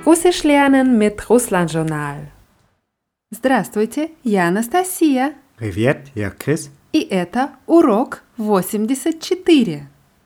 Russisch lernen mit Russland-Journal. Здравствуйте, я Анастасия. Привет, я Крис. И это урок 84.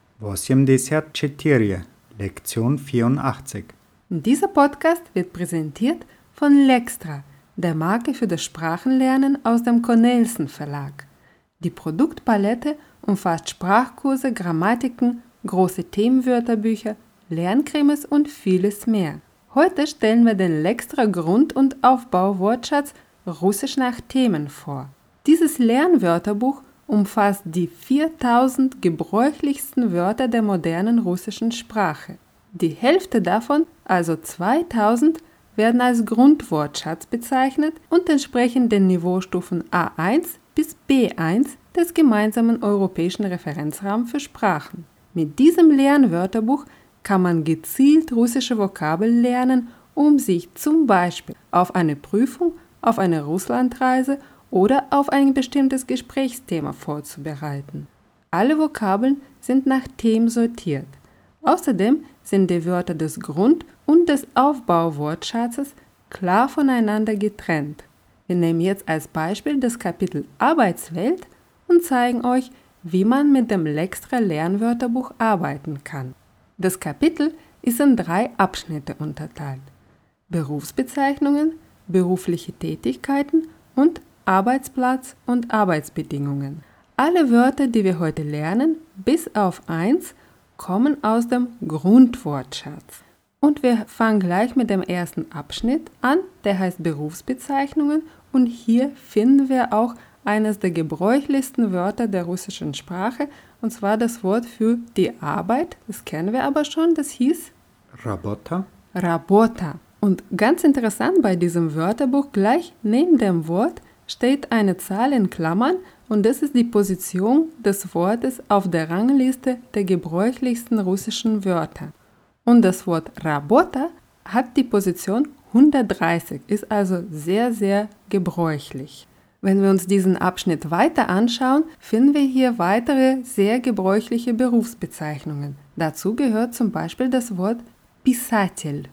84, Lektion 84. Dieser Podcast wird präsentiert von Lextra, der Marke für das Sprachenlernen aus dem Cornelsen Verlag. Die Produktpalette umfasst Sprachkurse, Grammatiken, große Themenwörterbücher, Lerncremes und vieles mehr. Heute stellen wir den Lextra Grund- und Aufbau-Wortschatz Russisch nach Themen vor. Dieses Lernwörterbuch umfasst die 4000 gebräuchlichsten Wörter der modernen russischen Sprache. Die Hälfte davon, also 2000, werden als Grundwortschatz bezeichnet und entsprechen den Niveaustufen A1 bis B1 des gemeinsamen europäischen Referenzrahmens für Sprachen. Mit diesem Lernwörterbuch kann man gezielt russische Vokabeln lernen, um sich zum Beispiel auf eine Prüfung, auf eine Russlandreise oder auf ein bestimmtes Gesprächsthema vorzubereiten. Alle Vokabeln sind nach Themen sortiert. Außerdem sind die Wörter des Grund- und des Aufbauwortschatzes klar voneinander getrennt. Wir nehmen jetzt als Beispiel das Kapitel Arbeitswelt und zeigen euch, wie man mit dem Lextra Lernwörterbuch arbeiten kann. Das Kapitel ist in 3 Abschnitte unterteilt: Berufsbezeichnungen, berufliche Tätigkeiten und Arbeitsplatz und Arbeitsbedingungen. Alle Wörter, die wir heute lernen, bis auf 1, kommen aus dem Grundwortschatz. Und wir fangen gleich mit dem ersten Abschnitt an, der heißt Berufsbezeichnungen, und hier finden wir auch eines der gebräuchlichsten Wörter der russischen Sprache, und zwar das Wort für die Arbeit. Das kennen wir aber schon, das hieß Работа. Работа. Und ganz interessant bei diesem Wörterbuch, gleich neben dem Wort steht eine Zahl in Klammern und das ist die Position des Wortes auf der Rangliste der gebräuchlichsten russischen Wörter. Und das Wort Работа hat die Position 130, ist also sehr, sehr gebräuchlich. Wenn wir uns diesen Abschnitt weiter anschauen, finden wir hier weitere sehr gebräuchliche Berufsbezeichnungen. Dazu gehört zum Beispiel das Wort Писатель.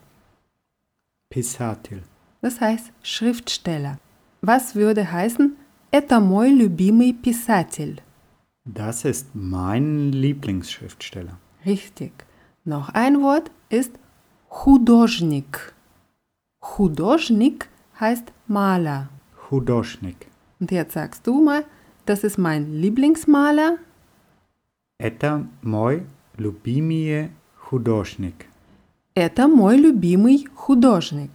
Писатель. Das heißt Schriftsteller. Was würde heißen, это мой любимый писатель? Das ist mein Lieblingsschriftsteller. Richtig. Noch ein Wort ist художник. Художник heißt Maler. Художник. Und jetzt sagst du mal, das ist mein Lieblingsmaler. Это мой любимый художник. Это мой любимый художник.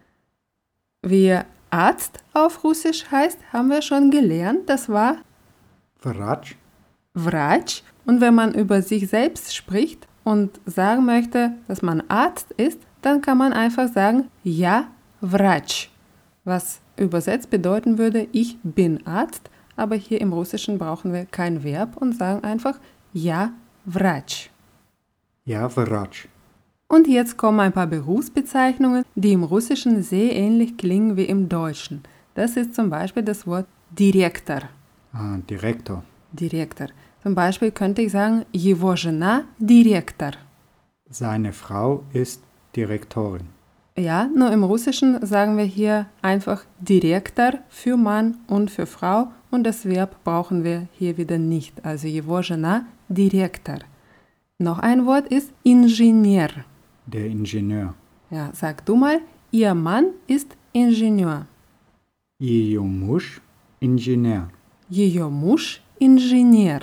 Wie Arzt auf Russisch heißt, haben wir schon gelernt. Das war Врач. Врач. Und wenn man über sich selbst spricht und sagen möchte, dass man Arzt ist, dann kann man einfach sagen, я врач. Was übersetzt bedeuten würde, ich bin Arzt, aber hier im Russischen brauchen wir kein Verb und sagen einfach, я врач. Ja, врач. Und jetzt kommen ein paar Berufsbezeichnungen, die im Russischen sehr ähnlich klingen wie im Deutschen. Das ist zum Beispiel das Wort Direktor. Direktor. Direktor. Zum Beispiel könnte ich sagen, его жена директор. Seine Frau ist Direktorin. Ja, nur im Russischen sagen wir hier einfach Direktor für Mann und für Frau und das Verb brauchen wir hier wieder nicht. Also его жена директор. Noch ein Wort ist Ingenieur. Der Ingenieur. Ja, sag du mal, ihr Mann ist Ingenieur. Ее муж Ingenieur. Ее муж Ingenieur.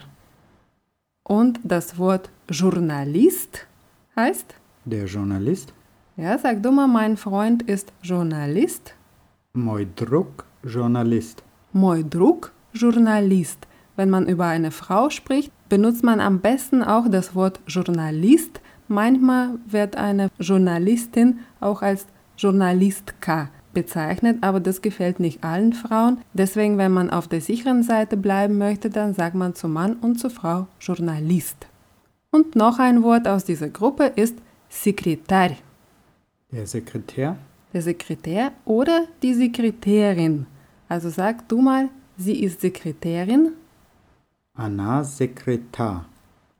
Und das Wort Journalist heißt? Der Journalist. Ja, sag du mal, mein Freund ist Journalist. Мой друг Journalist. Мой друг Journalist. Wenn man über eine Frau spricht, benutzt man am besten auch das Wort Journalist. Manchmal wird eine Journalistin auch als Journalistka bezeichnet, aber das gefällt nicht allen Frauen. Deswegen, wenn man auf der sicheren Seite bleiben möchte, dann sagt man zu Mann und zu Frau Journalist. Und noch ein Wort aus dieser Gruppe ist Sekretär. Der Sekretär. Der Sekretär oder die Sekretärin. Also sag du mal, sie ist Sekretärin. Она секретарь.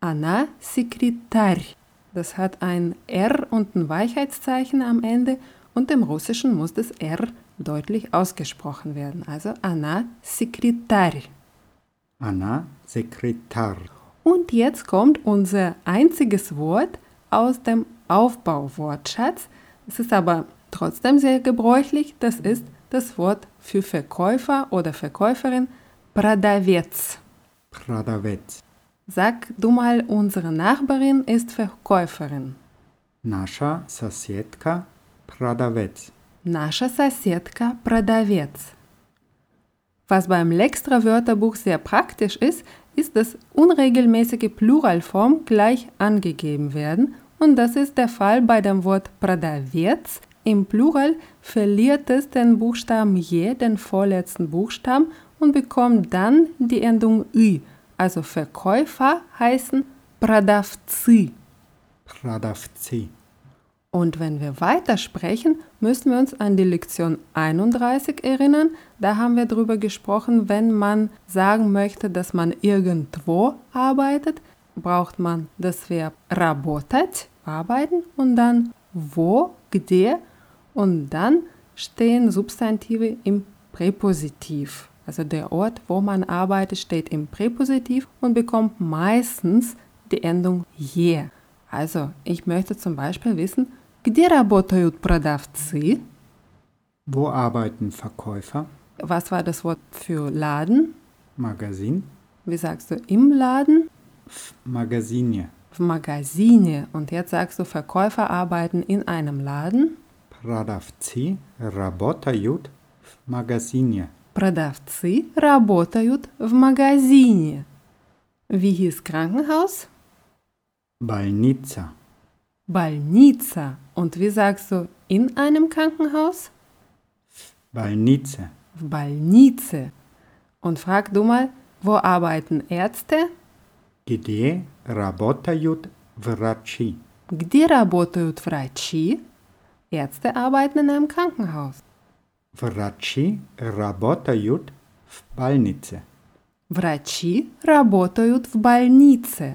Она секретарь. Das hat ein R und ein Weichheitszeichen am Ende und im Russischen muss das R deutlich ausgesprochen werden. Also Она секретарь. Она секретарь. Und jetzt kommt unser einziges Wort aus dem Aufbauwortschatz. Es ist aber trotzdem sehr gebräuchlich. Das ist das Wort für Verkäufer oder Verkäuferin, продавец. Продавец. Sag du mal, unsere Nachbarin ist Verkäuferin. Наша соседка продавец. Наша соседка продавец. Was beim Lextra-Wörterbuch sehr praktisch ist, ist, dass unregelmäßige Pluralform gleich angegeben werden und das ist der Fall bei dem Wort продавец. Im Plural verliert es den Buchstaben je, den vorletzten Buchstaben, und bekommt dann die Endung ü. Also Verkäufer heißen продавцы. Продавцы. Und wenn wir weitersprechen, müssen wir uns an die Lektion 31 erinnern. Da haben wir darüber gesprochen, wenn man sagen möchte, dass man irgendwo arbeitet, braucht man das Verb работать, arbeiten, und dann wo, где, und dann stehen Substantive im Präpositiv. Also der Ort, wo man arbeitet, steht im Präpositiv und bekommt meistens die Endung je. Also ich möchte zum Beispiel wissen, где работают продавцы? Wo arbeiten Verkäufer? Was war das Wort für Laden? Magazin. Wie sagst du im Laden? В магазине. В магазине. Und jetzt sagst du, Verkäufer arbeiten in einem Laden. Продавцы работают в магазине. Продавцы работают в магазине. Wie hieß Krankenhaus? Больница. Больница. Und wie sagst du in einem Krankenhaus? Больнице. В больнице. Und frag du mal, wo arbeiten Ärzte? Где работают врачи? Где работают врачи? Ärzte arbeiten in einem Krankenhaus. Врачи работают в больнице. Врачи работают в больнице.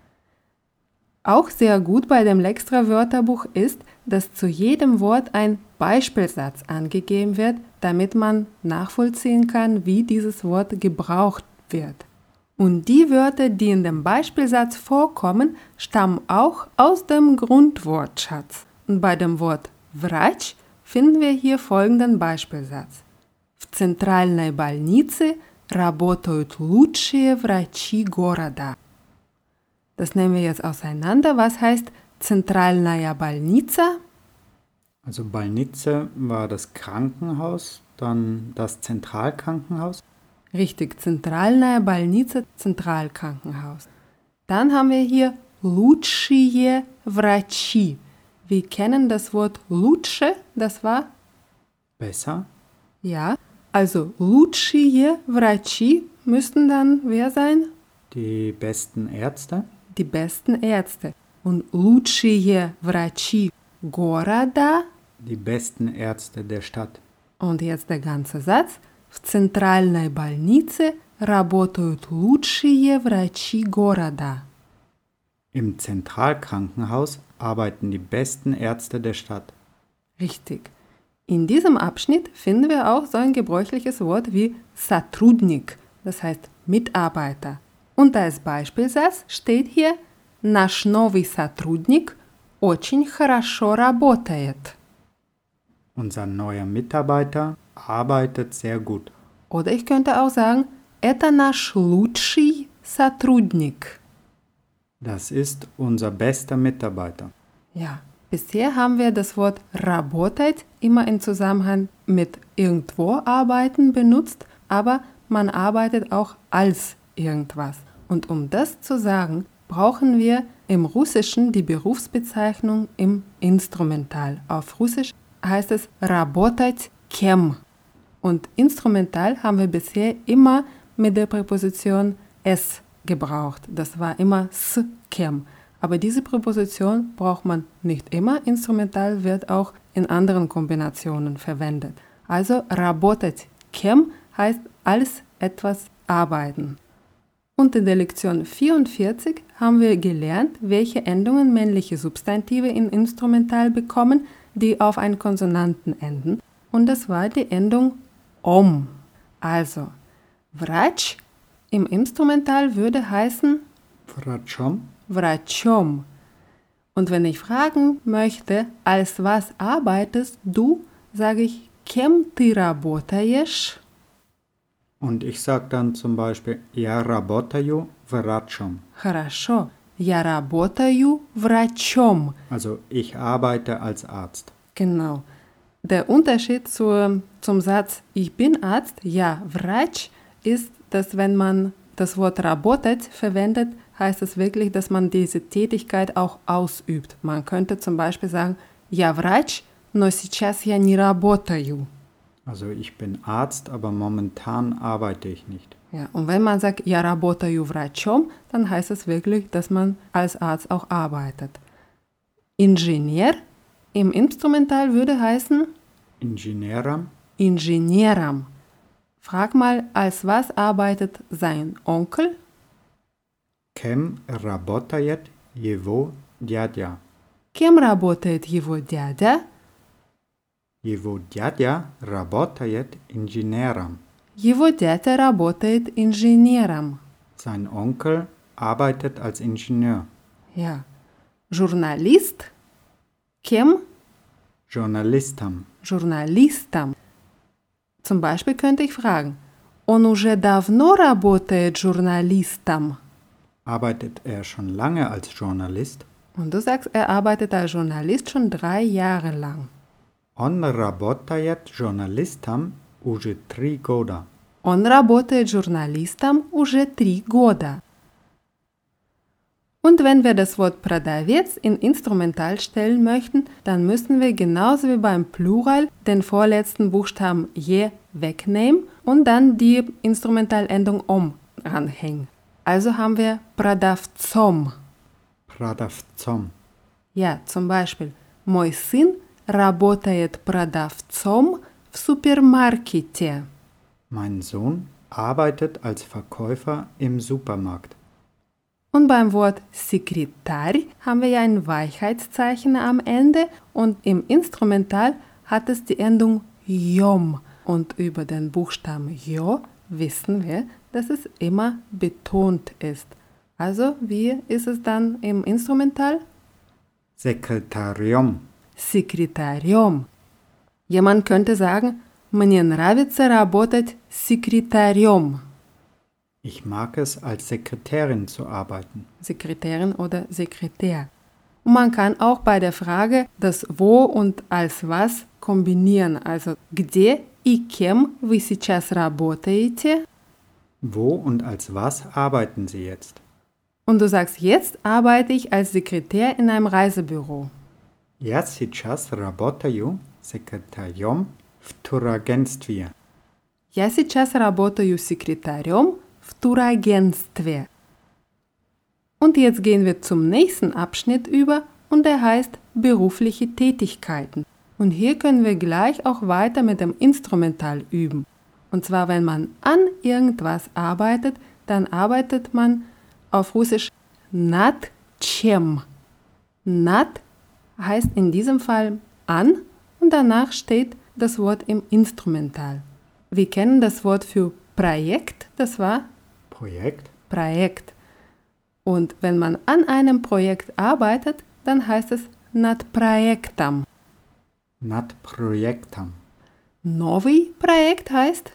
Auch sehr gut bei dem Lextra-Wörterbuch ist, dass zu jedem Wort ein Beispielsatz angegeben wird, damit man nachvollziehen kann, wie dieses Wort gebraucht wird. Und die Wörter, die in dem Beispielsatz vorkommen, stammen auch aus dem Grundwortschatz. Und bei dem Wort врач finden wir hier folgenden Beispielsatz. В центральной больнице работают лучшие врачи города. Das nehmen wir jetzt auseinander. Was heißt Центральная больница? Also Больница war das Krankenhaus, dann das Zentralkrankenhaus. Richtig, Центральная больница, Zentralkrankenhaus. Dann haben wir hier лучшие врачи. Wir kennen das Wort лучше, das war? Besser. Ja, also лучшие врачи müssten dann wer sein? Die besten Ärzte. Die besten Ärzte. Und лучшие врачи города. Die besten Ärzte der Stadt. Und jetzt der ganze Satz. В центральной больнице работают лучшие врачи города. Im Zentralkrankenhaus arbeiten die besten Ärzte der Stadt. Richtig. In diesem Abschnitt finden wir auch so ein gebräuchliches Wort wie сотрудник, das heißt Mitarbeiter. Und als Beispielsatz steht hier Наш новый сотрудник очень хорошо работает. Unser neuer Mitarbeiter arbeitet sehr gut. Oder ich könnte auch sagen, это наш лучший сотрудник. Das ist unser bester Mitarbeiter. Ja, bisher haben wir das Wort работать immer im Zusammenhang mit irgendwo arbeiten benutzt, aber man arbeitet auch als irgendwas. Und um das zu sagen, brauchen wir im Russischen die Berufsbezeichnung im Instrumental. Auf Russisch heißt es работать кем. Und instrumental haben wir bisher immer mit der Präposition es gebraucht. Das war immer с кем. Aber diese Präposition braucht man nicht immer. Instrumental wird auch in anderen Kombinationen verwendet. Also работать кем heißt als etwas arbeiten. Und in der Lektion 44 haben wir gelernt, welche Endungen männliche Substantive in Instrumental bekommen, die auf einen Konsonanten enden. Und das war die Endung om. Also, Врач im Instrumental würde heißen Врачом. Врачом. Und wenn ich fragen möchte, als was arbeitest du, sage ich Кем ты работаешь? Und ich sage dann zum Beispiel Я работаю врачом. Хорошо. Я работаю врачом. Also ich arbeite als Arzt. Genau. Der Unterschied zum Satz Ich bin Arzt, ja, Врач, ist, dass wenn man das Wort работать verwendet, heißt es wirklich, dass man diese Tätigkeit auch ausübt. Man könnte zum Beispiel sagen, Я врач, но сейчас я не работаю. Also ich bin Arzt, aber momentan arbeite ich nicht. Ja, und wenn man sagt, Я работаю врачом, dann heißt es wirklich, dass man als Arzt auch arbeitet. Ingenieur im Instrumental würde heißen Инженером. Инженером. Frag mal, als was arbeitet sein Onkel? Кем работает его дядя? Кем работает его дядя? Его дядя работает инженером. Его дядя работает инженером. Sein Onkel arbeitet als Ingenieur. Ja. Журналист? Кем? Journalistom. Журналистом. Zum Beispiel könnte ich fragen, Он уже давно работает журналистом? Arbeitet er schon lange als Journalist? Und du sagst, er arbeitet als Journalist schon 3 Jahre lang. Он работает журналистом уже 3 года. Он работает журналистом уже 3 года. Und wenn wir das Wort продавец in Instrumental stellen möchten, dann müssen wir genauso wie beim Plural den vorletzten Buchstaben je wegnehmen und dann die Instrumentalendung om ranhängen. Also haben wir продавцом. Продавцом. Ja, zum Beispiel, мой сын работает продавцом в супермаркете. Mein Sohn arbeitet als Verkäufer im Supermarkt. Und beim Wort Sekretär haben wir ja ein Weichheitszeichen am Ende und im Instrumental hat es die Endung jom. Und über den Buchstaben jo wissen wir, dass es immer betont ist. Also, wie ist es dann im Instrumental? Sekretarium. Секретарем. Jemand könnte sagen, мне нравится работать секретарем. Ich mag es, als Sekretärin zu arbeiten. Sekretärin oder Sekretär. Und man kann auch bei der Frage das wo und als was kombinieren. Also, где и кем вы сейчас работаете? Wo und als was arbeiten Sie jetzt? Und du sagst, jetzt arbeite ich als Sekretär in einem Reisebüro. Я сейчас работаю секретарем в турагентстве. Я сейчас работаю секретарем в турагентстве. Und jetzt gehen wir zum nächsten Abschnitt über und der heißt berufliche Tätigkeiten. Und hier können wir gleich auch weiter mit dem Instrumental üben. Und zwar, wenn man an irgendwas arbeitet, dann arbeitet man auf Russisch nад чем. Nад heißt in diesem Fall an und danach steht das Wort im Instrumental. Wir kennen das Wort für Projekt, das war Projekt. Projekt. Und wenn man an einem Projekt arbeitet, dann heißt es над проектом. Над проектом. Новый Projekt heißt?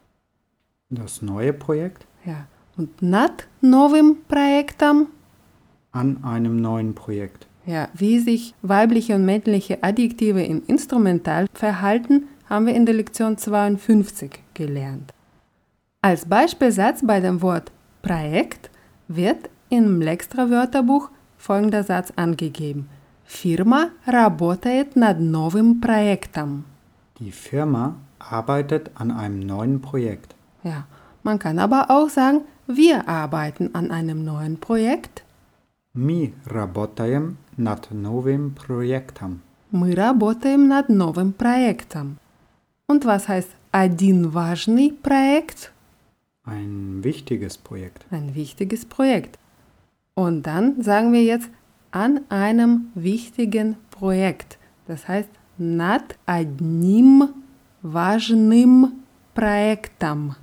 Das neue Projekt. Ja. Und над новым проектом? An einem neuen Projekt. Ja, wie sich weibliche und männliche Adjektive im Instrumental verhalten, haben wir in der Lektion 52 gelernt. Als Beispielsatz bei dem Wort Projekt wird im Lextra-Wörterbuch folgender Satz angegeben. Firma работает над новым проектом. Die Firma arbeitet an einem neuen Projekt. Ja, man kann aber auch sagen, wir arbeiten an einem neuen Projekt. Мы работаем над новым проектом. Мы работаем над новым проектом. Und was heißt один важный проект? Ein wichtiges Projekt. Ein wichtiges Projekt. Und dann sagen wir jetzt an einem wichtigen Projekt. Das heißt над одним важным проектом.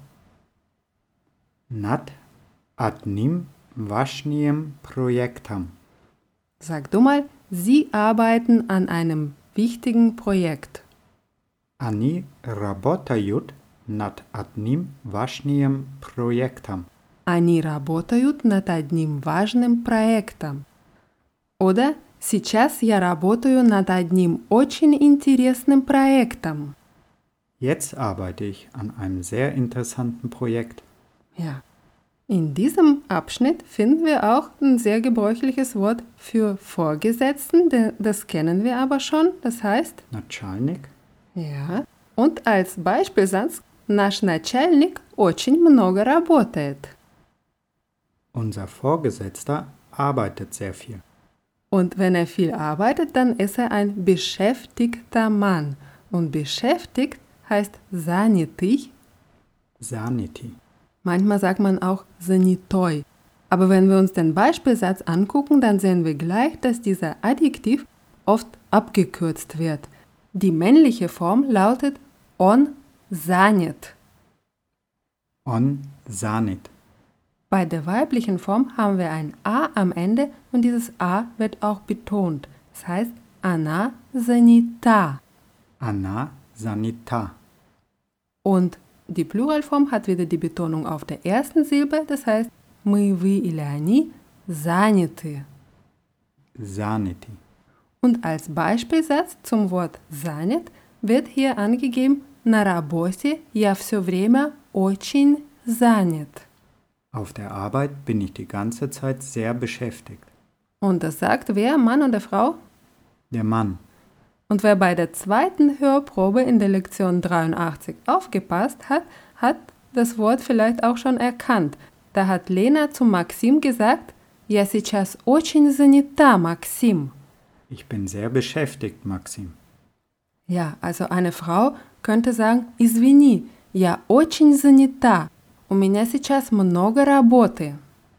Nat одним важным проектом. Sag du mal, Sie arbeiten an einem wichtigen Projekt. Они работают над одним важным проектом. Они работают над одним важным проектом. Oder сейчас я работаю над одним очень интересным проектом. Jetzt arbeite ich an einem sehr interessanten Projekt. Ja. In diesem Abschnitt finden wir auch ein sehr gebräuchliches Wort für Vorgesetzten, das kennen wir aber schon, das heißt Начальник. ja. Und als Beispielsatz наш начальник очень много работает. Unser Vorgesetzter arbeitet sehr viel. Und wenn er viel arbeitet, dann ist er ein beschäftigter Mann. Und beschäftigt heißt занятый. Занятый. Manchmal sagt man auch занятой. Aber wenn wir uns den Beispielsatz angucken, dann sehen wir gleich, dass dieser Adjektiv oft abgekürzt wird. Die männliche Form lautet он занят. Он занят. Bei der weiblichen Form haben wir ein A am Ende und dieses A wird auch betont. Das heißt, она занята. Она занята. Und die Pluralform hat wieder die Betonung auf der ersten Silbe, das heißt, мы, вы или они заняты. Заняты. Und als Beispielsatz zum Wort занят wird hier angegeben, на работе я все время очень занят. Auf der Arbeit bin ich die ganze Zeit sehr beschäftigt. Und das sagt wer, Mann oder Frau? Der Mann. Und wer bei der zweiten Hörprobe in der Lektion 83 aufgepasst hat, hat das Wort vielleicht auch schon erkannt. Da hat Lena zu Maxim gesagt, «Я сейчас очень занята, Maxim». Ich bin sehr beschäftigt, Maxim. Ja, also eine Frau könnte sagen, «Извини, я очень занята, у меня сейчас много работы».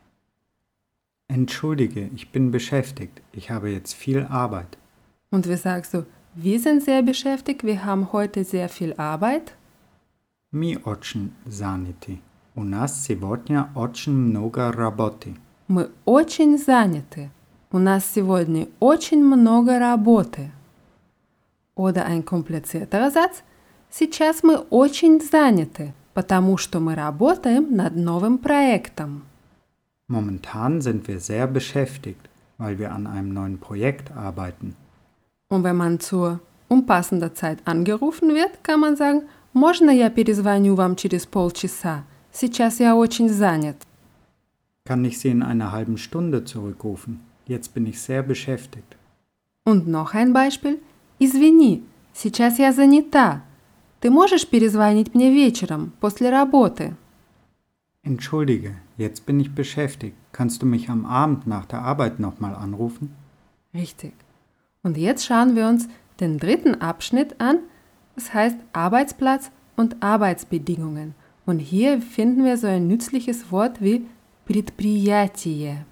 Entschuldige, ich bin beschäftigt. Ich habe jetzt viel Arbeit. Und wie sagst du, wir sind sehr beschäftigt, wir haben heute sehr viel Arbeit? Мы очень заняты. У нас сегодня очень много работы. Мы очень заняты. У нас сегодня очень много работы. Oder ein komplizierterer Satz. Сейчас мы очень заняты, потому что мы работаем над новым проектом. Momentan sind wir sehr beschäftigt, weil wir an einem neuen Projekt arbeiten. Und wenn man zur unpassender Zeit angerufen wird, kann man sagen, «Можно я перезвоню вам через полчаса? Сейчас я очень занят». Kann ich Sie in einer halben Stunde zurückrufen? Jetzt bin ich sehr beschäftigt. Und noch ein Beispiel. «Извини, сейчас я занята. Ты можешь перезвонить мне вечером, после работы?» Entschuldige, jetzt bin ich beschäftigt. Kannst du mich am Abend nach der Arbeit nochmal anrufen? Richtig. Und jetzt schauen wir uns den dritten Abschnitt an. Das heißt Arbeitsplatz und Arbeitsbedingungen. Und hier finden wir so ein nützliches Wort wie предприятие.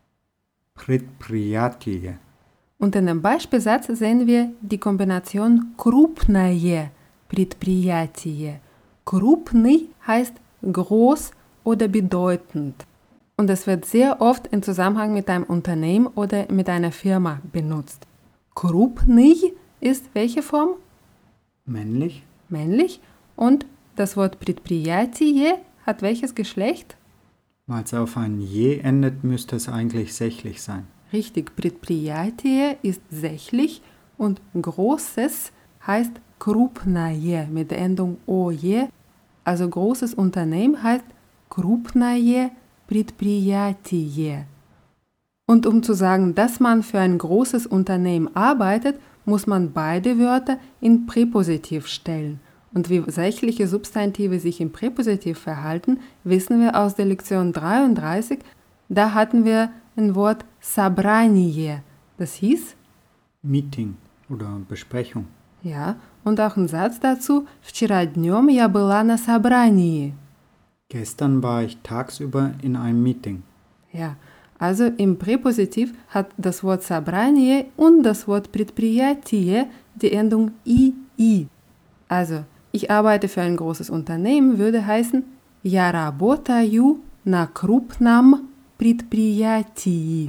Предприятие. Und in dem Beispielsatz sehen wir die Kombination крупное предприятие. Крупный heißt groß oder bedeutend. Und es wird sehr oft im Zusammenhang mit einem Unternehmen oder mit einer Firma benutzt. Крупный ist welche Form? Männlich? Männlich. Und das Wort предприятие hat welches Geschlecht? Weil es auf ein je endet, müsste es eigentlich sächlich sein. Richtig, предприятие ist sächlich und großes heißt крупное mit der Endung oje. Also großes Unternehmen heißt крупное предприятие. Und um zu sagen, dass man für ein großes Unternehmen arbeitet, muss man beide Wörter in Präpositiv stellen. Und wie sächliche Substantive sich im Präpositiv verhalten, wissen wir aus der Lektion 33. Da hatten wir ein Wort собрание. Das hieß? Meeting oder Besprechung. Ja, und auch ein Satz dazu. Вчера днем я была на собрании. Gestern war ich tagsüber in einem Meeting. Ja, Also im Präpositiv hat das Wort собрание und das Wort предприятие die Endung ii. Also, ich arbeite für ein großes Unternehmen würde heißen Я работаю на крупном предприятии.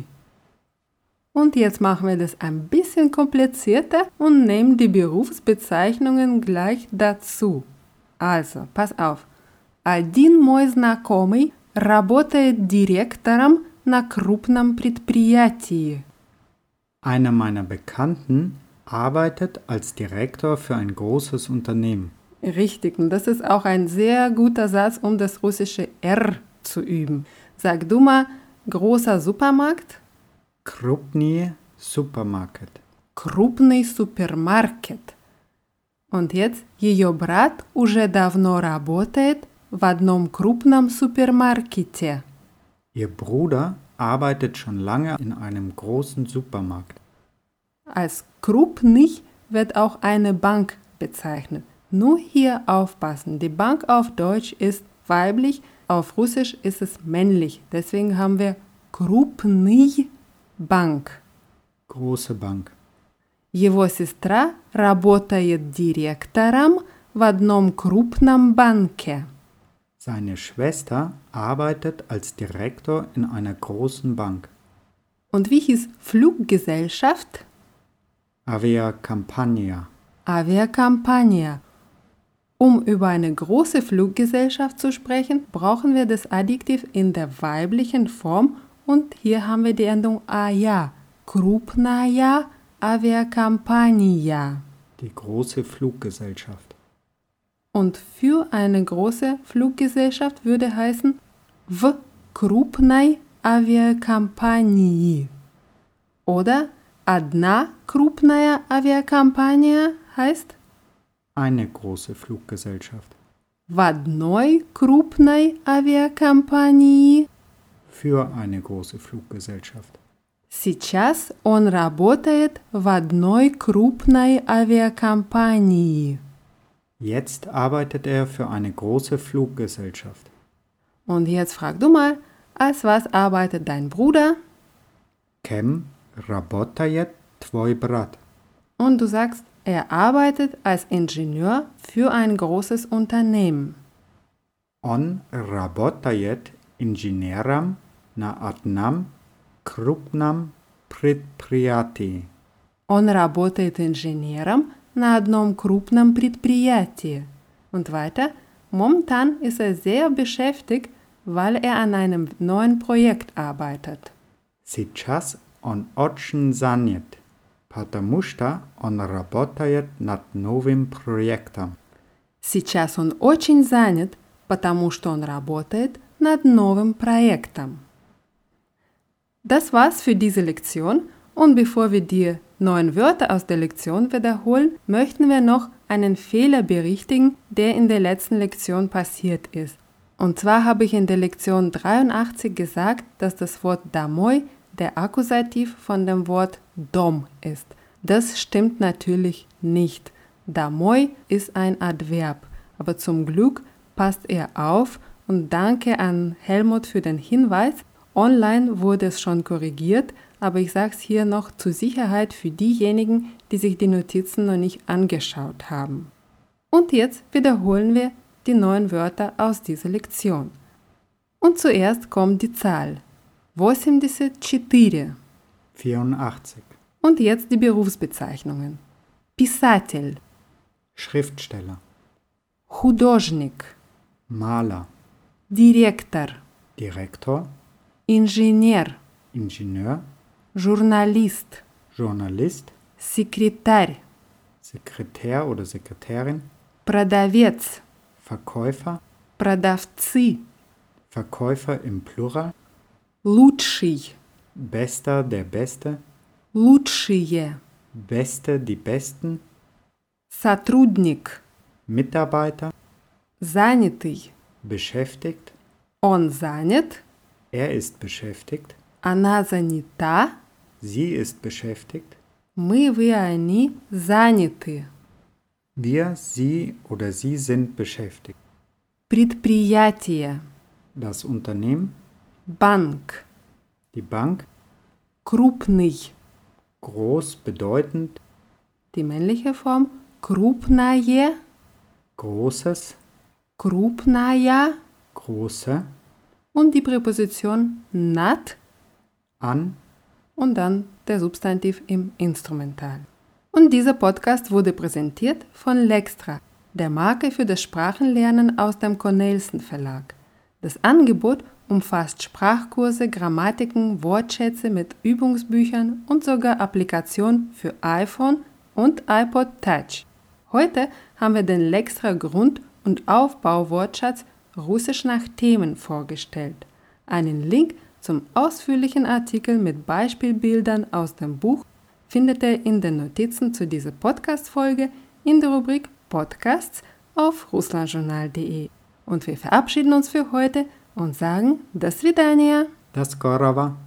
Und jetzt machen wir das ein bisschen komplizierter und nehmen die Berufsbezeichnungen gleich dazu. Also, pass auf. Один мой знакомый работает директором на крупном предприятии. Einer meiner Bekannten arbeitet als Direktor für ein großes Unternehmen. Richtig, und das ist auch ein sehr guter Satz, um das russische R zu üben. Sag du mal, großer Supermarkt? Krupny Supermarket. Крупный супермаркет. Und jetzt, ее брат уже давно работает в одном крупном супермаркете. Ihr Bruder arbeitet schon lange in einem großen Supermarkt. Als крупный wird auch eine Bank bezeichnet. Nur hier aufpassen, die Bank auf Deutsch ist weiblich, auf Russisch ist es männlich. Deswegen haben wir крупный банк. Große Bank. Его сестра работает директором в одном крупном банке. Seine Schwester arbeitet als Direktor in einer großen Bank. Und wie hieß Fluggesellschaft? Aviacampania. Aviacampania. Um über eine große Fluggesellschaft zu sprechen, brauchen wir das Adjektiv in der weiblichen Form und hier haben wir die Endung ая. Крупная авиакомпания. Die große Fluggesellschaft. Und für eine große Fluggesellschaft würde heißen в крупной авиакомпании. Oder одна крупная авиакомпания heißt Eine große Fluggesellschaft. в одной крупной авиакомпании. Für eine große Fluggesellschaft. Сейчас он работает в одной крупной авиакомпании. Jetzt arbeitet er für eine große Fluggesellschaft. Und jetzt frag du mal, als was arbeitet dein Bruder? Kem работает твой брат? Und du sagst, er arbeitet als Ingenieur für ein großes Unternehmen. Он работает инженером на одном крупном предприятии. Он работает инженером на одном крупном предприятии. Und weiter, momentan ist er sehr beschäftigt, weil er an einem neuen Projekt arbeitet. Сейчас он очень занят, потому что он работает над новым проектом. Сейчас он очень занят, потому что он работает над новым проектом. Das war's für diese Lektion und bevor wir die neuen Wörter aus der Lektion wiederholen, möchten wir noch einen Fehler berichtigen, der in der letzten Lektion passiert ist. Und zwar habe ich in der Lektion 83 gesagt, dass das Wort домой der Akkusativ von dem Wort dom ist. Das stimmt natürlich nicht. Домой ist ein Adverb, aber zum Glück passt er auf und danke an Helmut für den Hinweis. Online wurde es schon korrigiert, aber ich sage es hier noch zur Sicherheit für diejenigen, die sich die Notizen noch nicht angeschaut haben. Und jetzt wiederholen wir die neuen Wörter aus dieser Lektion. Und zuerst kommt die Zahl 84. 84. Und jetzt die Berufsbezeichnungen. Писатель, Schriftsteller, художник, Maler, директор, Direktor, инженер, Ingenieur, журналист, Journalist, секретарь, Sekretär oder Sekretärin, продавец, Verkäufer, продавцы, Verkäufer im Plural, лучший, Bester, der Beste, лучшие, Beste, die Besten, сотрудник, Mitarbeiter, занятый, beschäftigt, он занят, er ist beschäftigt, она занята, sie ist beschäftigt, мы, вы, они заняты. wir, sie oder sie sind beschäftigt. Предприятие, Das Unternehmen, банк, Die Bank, крупный. groß, bedeutend, Die männliche Form крупное, großes, крупная große, und die Präposition nat an, und dann der Substantiv im Instrumental. Und dieser Podcast wurde präsentiert von Lextra, der Marke für das Sprachenlernen aus dem Cornelsen Verlag. Das Angebot umfasst Sprachkurse, Grammatiken, Wortschätze mit Übungsbüchern und sogar Applikationen für iPhone und iPod Touch. Heute haben wir den Lextra Grund- und Aufbauwortschatz Russisch nach Themen vorgestellt. Einen Link zum ausführlichen Artikel mit Beispielbildern aus dem Buch findet ihr in den Notizen zu dieser Podcast-Folge in der Rubrik Podcasts auf russlandjournal.de. Und wir verabschieden uns für heute und sagen До свидания. das Gorava.